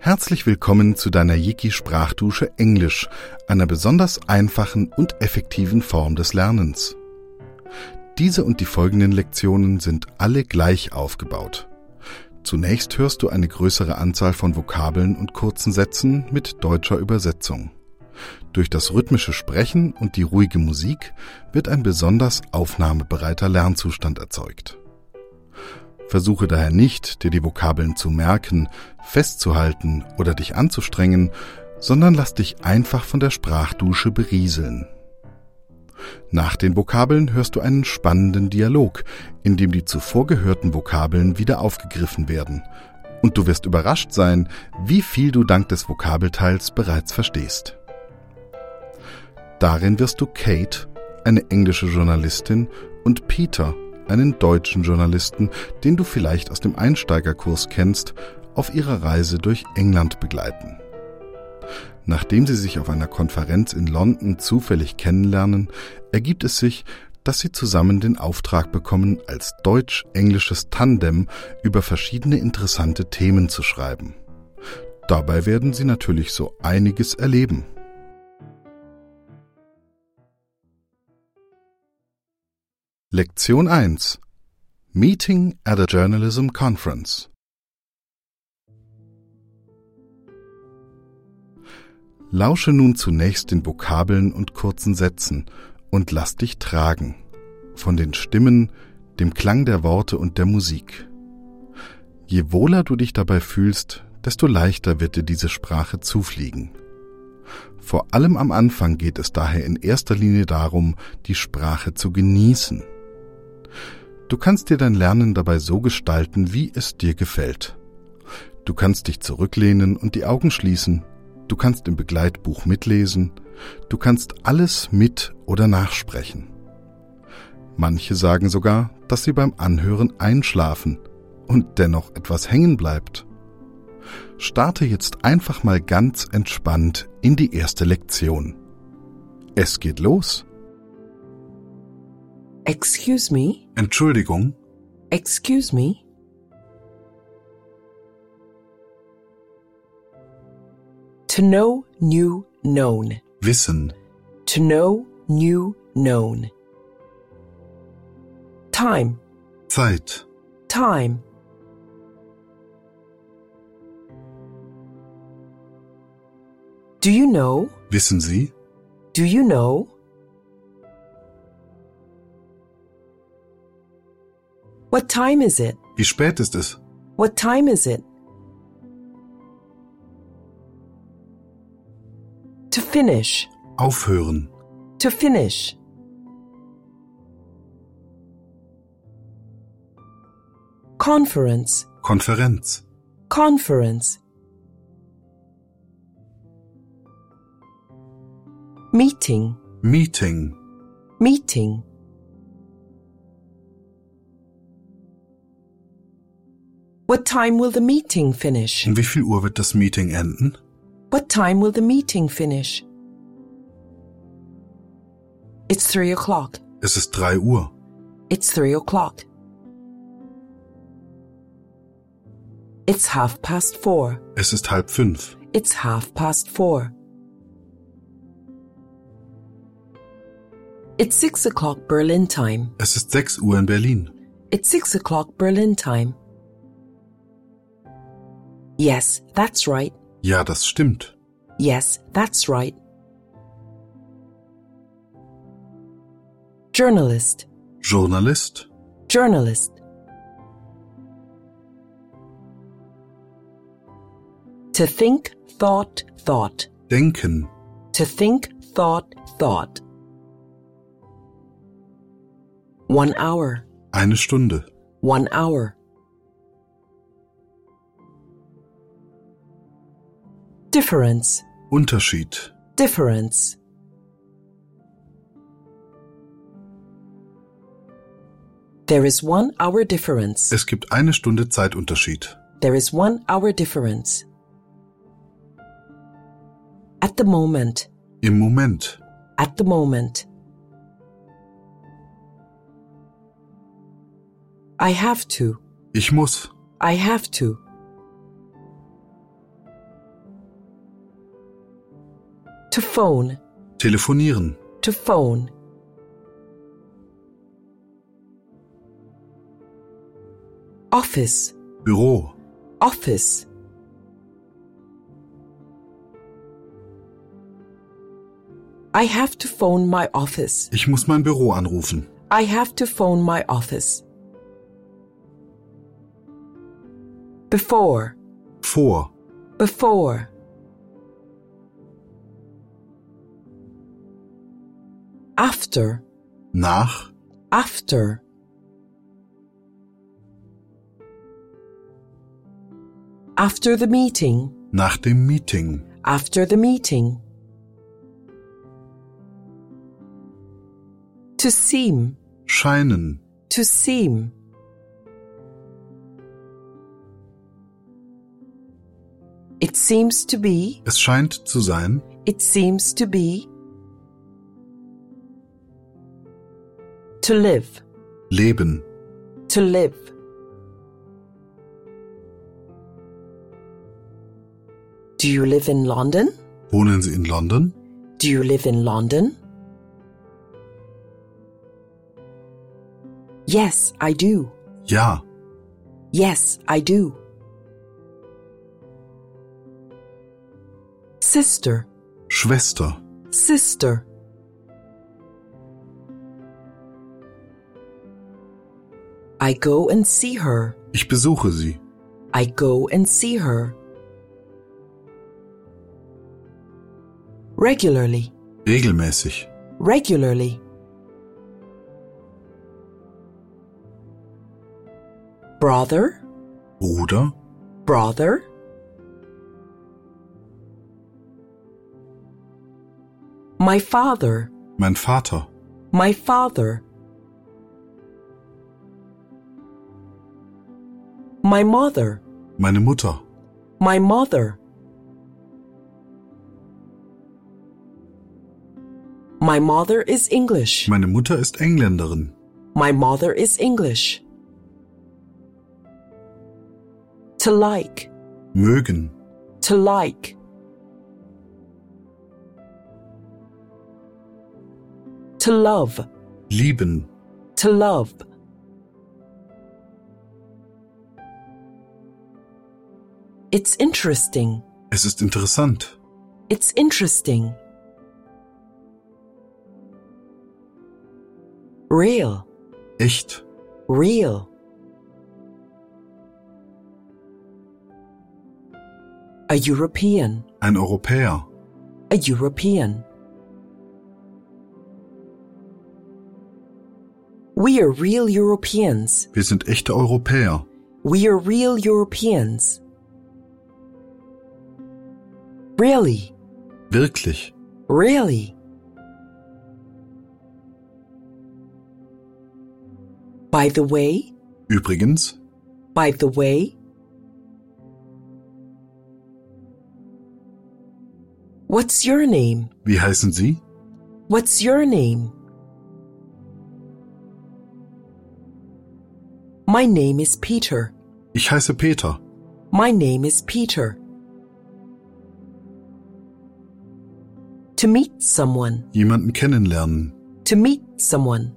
Herzlich willkommen zu deiner Yiki-Sprachdusche Englisch, einer besonders einfachen und effektiven Form des Lernens. Diese und die folgenden Lektionen sind alle gleich aufgebaut. Zunächst hörst du eine größere Anzahl von Vokabeln und kurzen Sätzen mit deutscher Übersetzung. Durch das rhythmische Sprechen und die ruhige Musik wird ein besonders aufnahmebereiter Lernzustand erzeugt. Versuche daher nicht, dir die Vokabeln zu merken, festzuhalten oder dich anzustrengen, sondern lass dich einfach von der Sprachdusche berieseln. Nach den Vokabeln hörst du einen spannenden Dialog, in dem die zuvor gehörten Vokabeln wieder aufgegriffen werden. Und du wirst überrascht sein, wie viel du dank des Vokabelteils bereits verstehst. Darin wirst du Kate, eine englische Journalistin, und Peter, einen deutschen Journalisten, den du vielleicht aus dem Einsteigerkurs kennst, auf ihrer Reise durch England begleiten. Nachdem sie sich auf einer Konferenz in London zufällig kennenlernen, ergibt es sich, dass sie zusammen den Auftrag bekommen, als deutsch-englisches Tandem über verschiedene interessante Themen zu schreiben. Dabei werden sie natürlich so einiges erleben. Lektion 1. Meeting at a Journalism Conference. Lausche nun zunächst den Vokabeln und kurzen Sätzen und lass dich tragen. Von den Stimmen, dem Klang der Worte und der Musik. Je wohler du dich dabei fühlst, desto leichter wird dir diese Sprache zufliegen. Vor allem am Anfang geht es daher in erster Linie darum, die Sprache zu genießen. Du kannst dir dein Lernen dabei so gestalten, wie es dir gefällt. Du kannst dich zurücklehnen und die Augen schließen. Du kannst im Begleitbuch mitlesen. Du kannst alles mit- oder nachsprechen. Manche sagen sogar, dass sie beim Anhören einschlafen und dennoch etwas hängen bleibt. Starte jetzt einfach mal ganz entspannt in die erste Lektion. Es geht los. Excuse me? Entschuldigung. Excuse me? To know, new, known. Wissen. To know, new, known. Time, Zeit. time. Do you know? Wissen Sie? Do you know? What time is it? Wie spät ist es? What time is it? To finish, Aufhören. to finish. Conference, Konferenz. conference. Meeting, Meeting. meeting. What time will the meeting finish? Um wie viel Uhr wird das Meeting enden? What time will the meeting finish? It's 3 o'clock. Es ist 3 Uhr. It's 3 o'clock. It's 4:30. Es ist 4:30. It's 4:30. It's 6 o'clock Berlin time. Es ist 6 Uhr in Berlin. It's 6 o'clock Berlin time. Yes, that's right. Ja, das stimmt. Yes, that's right. Journalist, Journalist. journalist. To think, thought, thought. Denken. To think, thought, thought. 1 hour, 1 Stunde. 1 hour. Difference, Unterschied. difference. There is 1 hour difference. Es gibt 1 Stunde Zeitunterschied. There is 1 hour difference. At the moment, Im Moment. at the moment. I have to, Ich muss. I have to. To phone. Telefonieren. To phone. Office. Büro. Office. I have to phone my office. Ich muss mein Büro anrufen. I have to phone my office. Before. Vor. Before. After. Nach. After. After the meeting. Nach dem Meeting. After the meeting. To seem. Scheinen. To seem. It seems to be. Es scheint zu sein. It seems to be. To live. Leben. To live. Do you live in London? Wohnen Sie in London? Do you live in London? Yes, I do. Ja. Yes, I do. Sister. Schwester. Sister. I go and see her. Ich besuche sie. I go and see her. Regularly. Regelmäßig. Regularly. Brother. Bruder. Brother. My father. Mein Vater. My father. My mother. Meine Mutter. My mother. My mother is English. Meine Mutter ist Engländerin. My mother is English. To like. Mögen. To like. To love. Lieben. To love. It's interesting. Es ist interessant. It's interesting. Real. Echt. Real. A European. Ein Europäer. A European. We are real Europeans. Wir sind echte Europäer. We are real Europeans. Really. Wirklich. Really. By the way. Übrigens. By the way. What's your name? Wie heißen Sie? What's your name? My name is Peter. Ich heiße Peter. My name is Peter. To meet someone. Jemanden kennenlernen. To meet someone.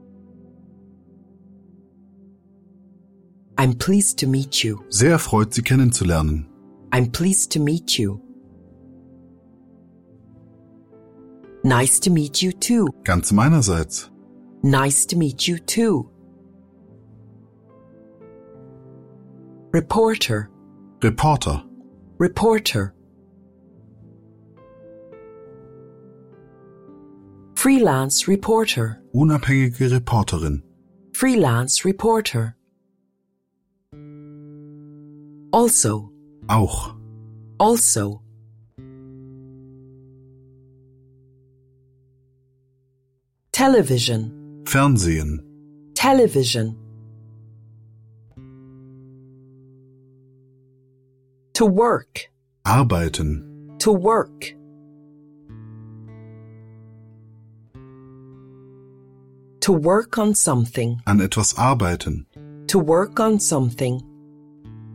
I'm pleased to meet you. Sehr erfreut, Sie kennenzulernen. I'm pleased to meet you. Nice to meet you too. Ganz meinerseits. Nice to meet you too. Reporter. Reporter. Reporter. Freelance reporter. Unabhängige Reporterin. Freelance reporter. Also. Auch. Also. Television. Fernsehen. Television. To work. Arbeiten. To work. To work on something. An etwas arbeiten. To work on something.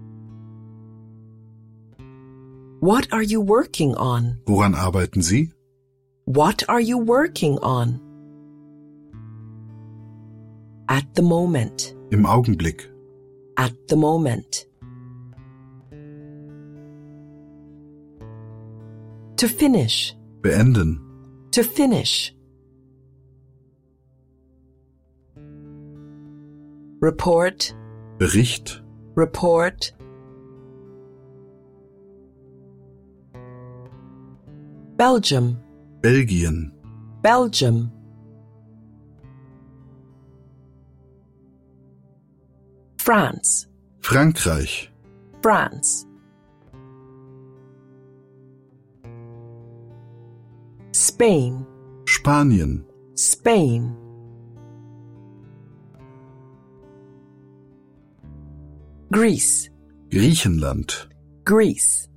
What are you working on? Woran arbeiten Sie? What are you working on? At the moment. Im Augenblick. At the moment. To finish. Beenden. To finish. Report. Bericht. Report. Belgium. Belgien. Belgium. France. Frankreich. France. Spain. Spanien. Spain. Greece. Griechenland. Greece.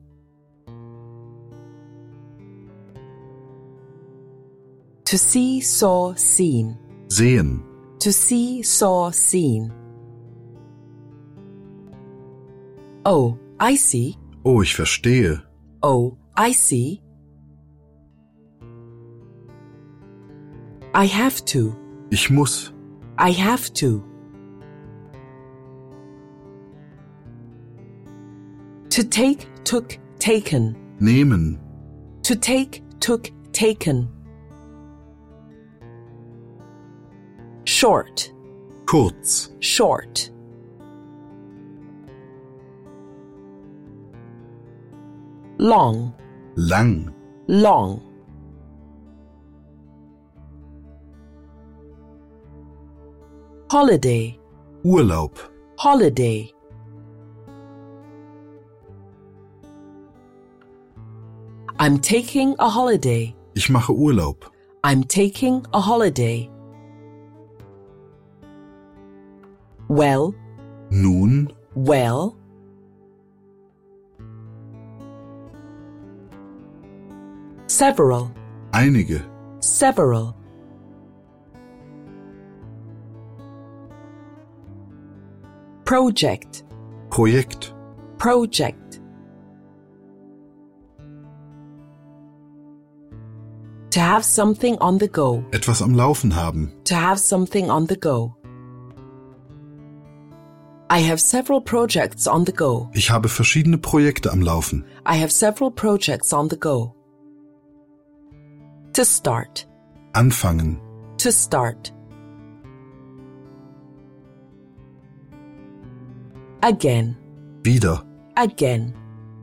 To see, saw, seen. Sehen. To see, saw, seen. Oh, I see. Oh, ich verstehe. Oh, I see. I have to. Ich muss. I have to. To take, took, taken. Nehmen. To take, took, taken. Short. Kurz. Short. Long. Lang. Long. Holiday. Urlaub. Holiday. I'm taking a holiday. Ich mache Urlaub. I'm taking a holiday. Well. Nun. Well. Several. Einige. Several. Project. Projekt. Project. To have something on the go. Etwas am Laufen haben. To have something on the go. I have several projects on the go. Ich habe verschiedene Projekte am Laufen. I have several projects on the go. To start. Anfangen. To start. Again. Wieder. Again.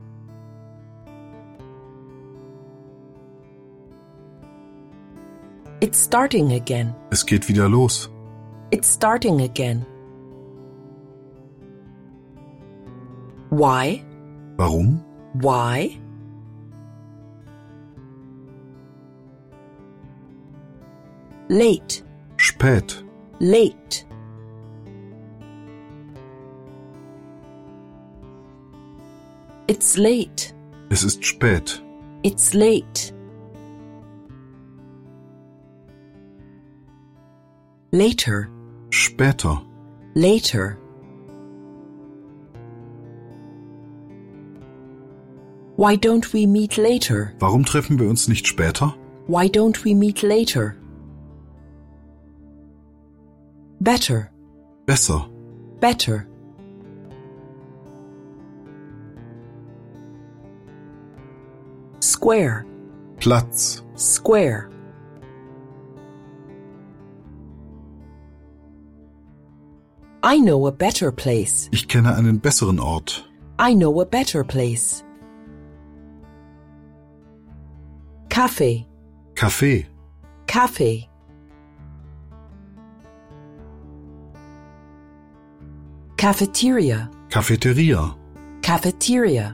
It's starting again. Es geht wieder los. It's starting again. Why? Warum? Why? Late. Spät. Late. It's late. Es ist spät. It's late. Later. Später. Later. Why don't we meet later? Warum treffen wir uns nicht später? Why don't we meet later? Better. Besser. Better. Square. Platz. Square. I know a better place. Ich kenne einen besseren Ort. I know a better place. Cafe. Café. Cafe. Cafeteria. Cafeteria. Cafeteria.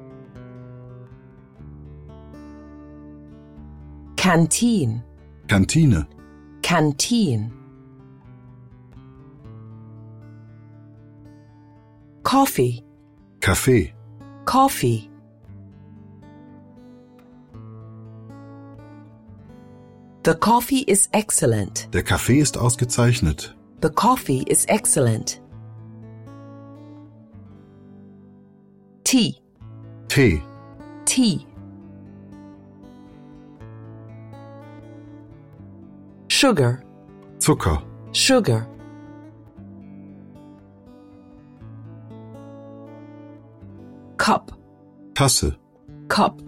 Canteen. Kantine. Canteen. Coffee. Kaffee. Coffee. The coffee is excellent. Der Kaffee ist ausgezeichnet. The coffee is excellent. Tea. Tee. Tea. sugar, Zucker, sugar. Cup, Tasse, cup.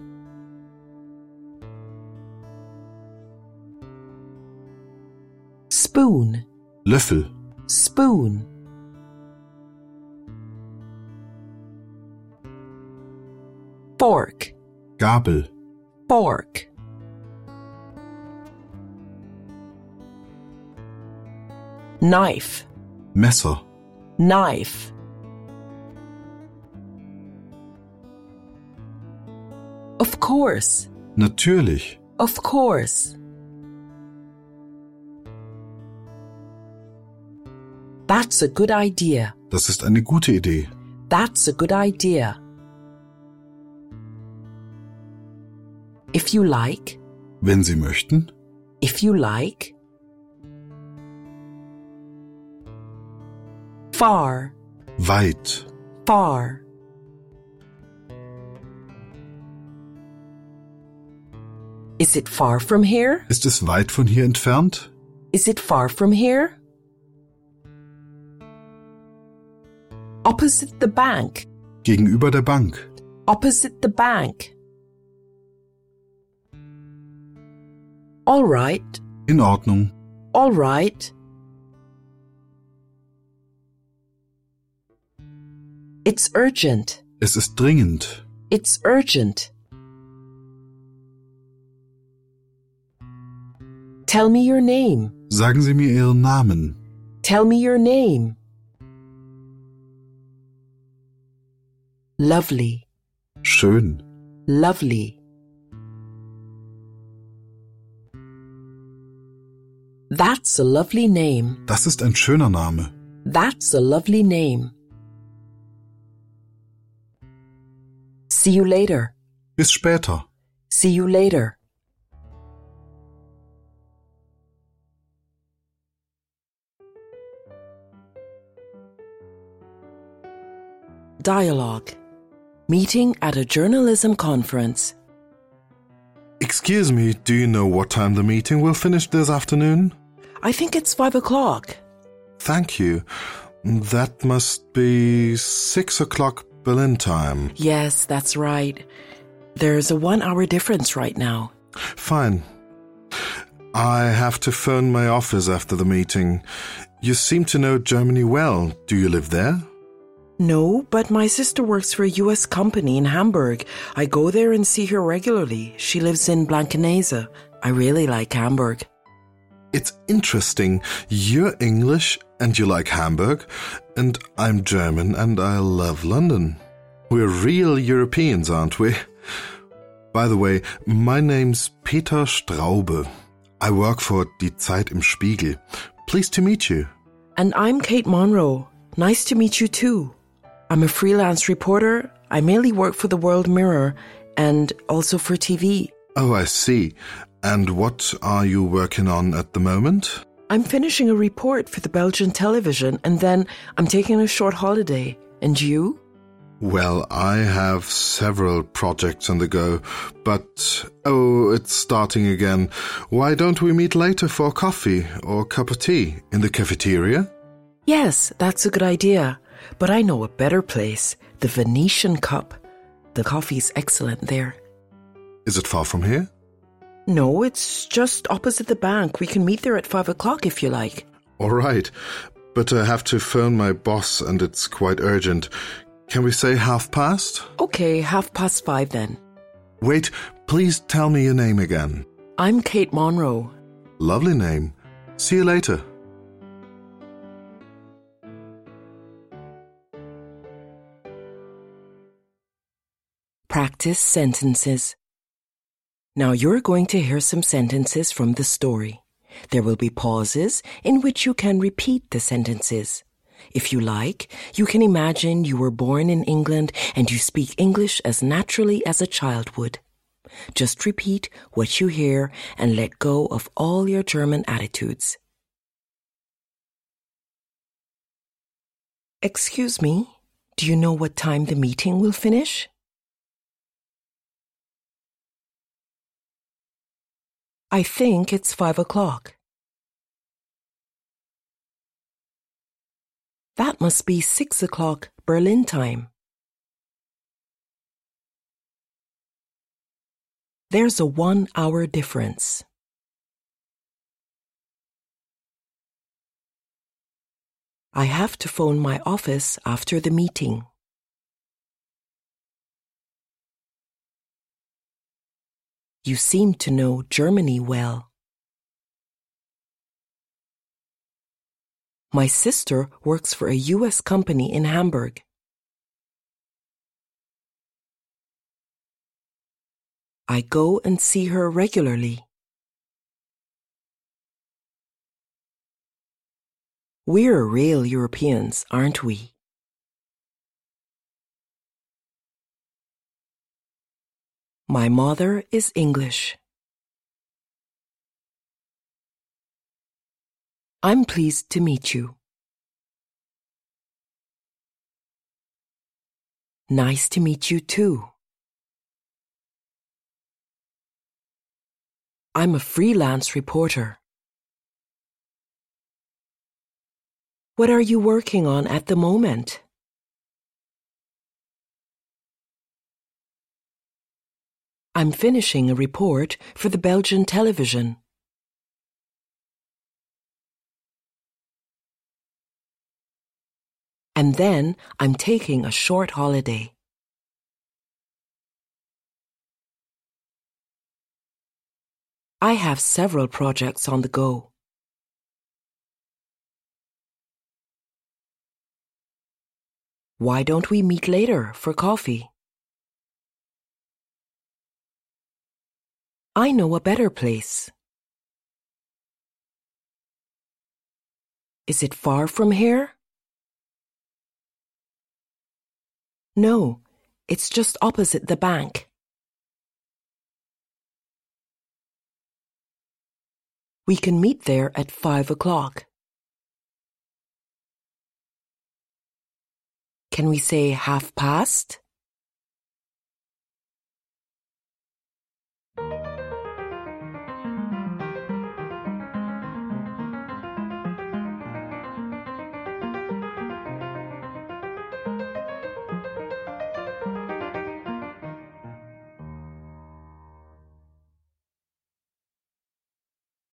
Spoon, Löffel, spoon. Fork, Gabel, fork. Knife, Messer, knife. Of course, natürlich, of course. That's a good idea. das ist eine gute Idee. That's a good idea. If you like, Wenn Sie möchten, if you like. Far, weit, far. Is it far from here? ist es weit von hier entfernt? Is it far from here? Opposite the bank, Gegenüber der Bank, opposite the bank. All right, in Ordnung, all right. It's urgent, es ist dringend, it's urgent. Tell me your name, sagen Sie mir Ihren Namen. tell me your name. Lovely, Schön, lovely. That's a lovely name. das ist ein schöner Name. That's a lovely name. See you later. Bis später. See you later. Dialogue. Meeting at a journalism conference. Excuse me, do you know what time the meeting will finish this afternoon? I think it's 5 o'clock. Thank you. That must be 6 o'clock Berlin time. Yes, that's right. There's a 1 hour difference right now. Fine. I have to phone my office after the meeting. You seem to know Germany well. Do you live there? No, but my sister works for a US company in Hamburg. I go there and see her regularly. She lives in Blankenese. I really like Hamburg. It's interesting. You're English and you like Hamburg, and I'm German and I love London. We're real Europeans, aren't we? By the way, my name's Peter Straube. I work for Die Zeit im Spiegel. Pleased to meet you. And I'm Kate Monroe. Nice to meet you too. I'm a freelance reporter. I mainly work for the World Mirror and also for TV. Oh, I see. And what are you working on at the moment? I'm finishing a report for the Belgian television and then I'm taking a short holiday. And you? Well, I have several projects on the go, but oh, it's starting again. Why don't we meet later for coffee or a cup of tea in the cafeteria? Yes, that's a good idea. But I know a better place, the Venetian Cup. The coffee's excellent there. Is it far from here? No, it's just opposite the bank. We can meet there at 5 o'clock if you like. All right, but I have to phone my boss and it's quite urgent. Can we say 5:30? Okay, 5:30 then. Wait, please tell me your name again. I'm Kate Monroe. Lovely name. See you later. Practice sentences. Now you're going to hear some sentences from the story. There will be pauses in which you can repeat the sentences. If you like, you can imagine you were born in England and you speak English as naturally as a child would. Just repeat what you hear and let go of all your German attitudes. Excuse me, do you know what time the meeting will finish? I think it's 5 o'clock. That must be 6 o'clock Berlin time. There's a 1-hour difference. I have to phone my office after the meeting. You seem to know Germany well. My sister works for a US company in Hamburg. I go and see her regularly. We're real Europeans, aren't we? My mother is English. I'm pleased to meet you. Nice to meet you too. I'm a freelance reporter. What are you working on at the moment? I'm finishing a report for the Belgian television. And then I'm taking a short holiday. I have several projects on the go. Why don't we meet later for coffee? I know a better place. Is it far from here? No, it's just opposite the bank. We can meet there at 5 o'clock. Can we say 5:30?